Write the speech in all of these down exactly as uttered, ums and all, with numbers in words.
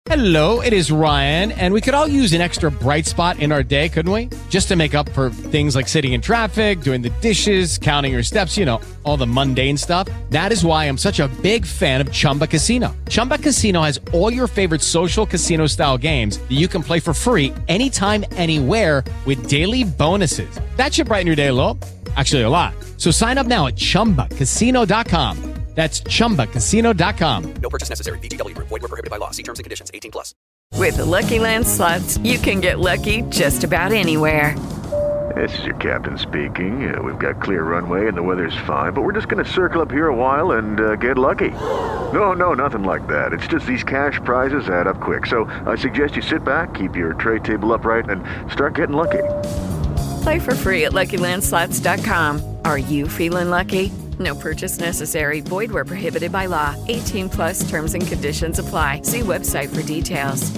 Hello, it is Ryan, and we could all use an extra bright spot in our day, couldn't we? Just to make up for things like sitting in traffic, doing the dishes, counting your steps, you know, all the mundane stuff. That is why I'm such a big fan of Chumba Casino. Chumba Casino has all your favorite social casino-style games that you can play for free anytime, anywhere with daily bonuses. That should brighten your day a little. Actually, a lot. So sign up now at chumba casino dot com. That's chumba casino dot com. No purchase necessary. V G W Group. Void where prohibited by law. See terms and conditions. eighteen plus. With the Lucky Land Slots, you can get lucky just about anywhere. This is your captain speaking. Uh, we've got clear runway and the weather's fine, but we're just going to circle up here a while and uh, get lucky. No, no, nothing like that. It's just these cash prizes add up quick. So I suggest you sit back, keep your tray table upright, and start getting lucky. Play for free at lucky land slots dot com. Are you feeling lucky? No purchase necessary. Void where prohibited by law. eighteen plus terms and conditions apply. See website for details.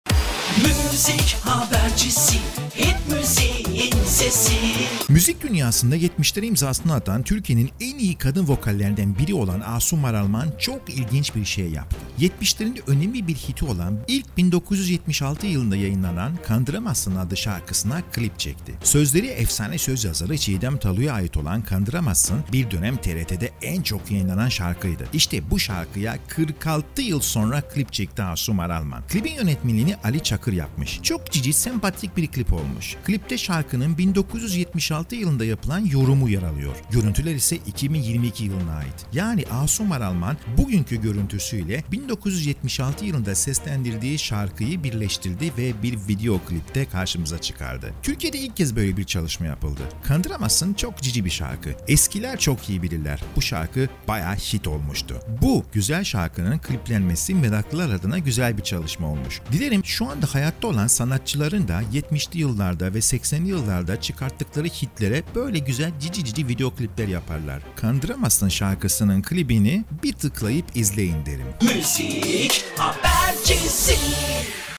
Müzik habercisi, hit müziğin sesi. Müzik dünyasında yetmişlere imzasını atan Türkiye'nin en iyi kadın vokallerinden biri olan Asuman Aralman çok ilginç bir şey yaptı. yetmişlerin önemli bir hiti olan ilk bin dokuz yüz yetmiş altı yılında yayınlanan Kandıramazsın adlı şarkısına klip çekti. Sözleri efsane söz yazarı Çiğdem Talu'ya ait olan Kandıramazsın bir dönem T R T'de en çok yayınlanan şarkıydı. İşte bu şarkıya kırk altı yıl sonra klip çekti Asuman Aralman. Klibin yönetmenliğini Ali Çakır yapmış. Çok cici, sempatik bir klip olmuş. Klipte şarkının bin dokuz yüz yetmiş altı yılında yapılan yorumu yer alıyor. Görüntüler ise iki bin yirmi iki yılına ait. Yani Asuman Aralman bugünkü görüntüsüyle bin dokuz yüz yetmiş altı yılında seslendirdiği şarkıyı birleştirdi ve bir video klipte karşımıza çıkardı. Türkiye'de ilk kez böyle bir çalışma yapıldı. Kandıramazsın çok cici bir şarkı. Eskiler çok iyi bilirler. Bu şarkı bayağı hit olmuştu. Bu güzel şarkının kliplenmesi meraklılar adına güzel bir çalışma olmuş. Dilerim şu anda hayatta olan sanatçıların da yetmişli yıllarda ve seksenli yıllarda çıkarttıkları hitlere böyle güzel cici cici video klipler yaparlar. Kandıramazsın şarkısının klibini bir tıklayıp izleyin derim. Müzik habercisi.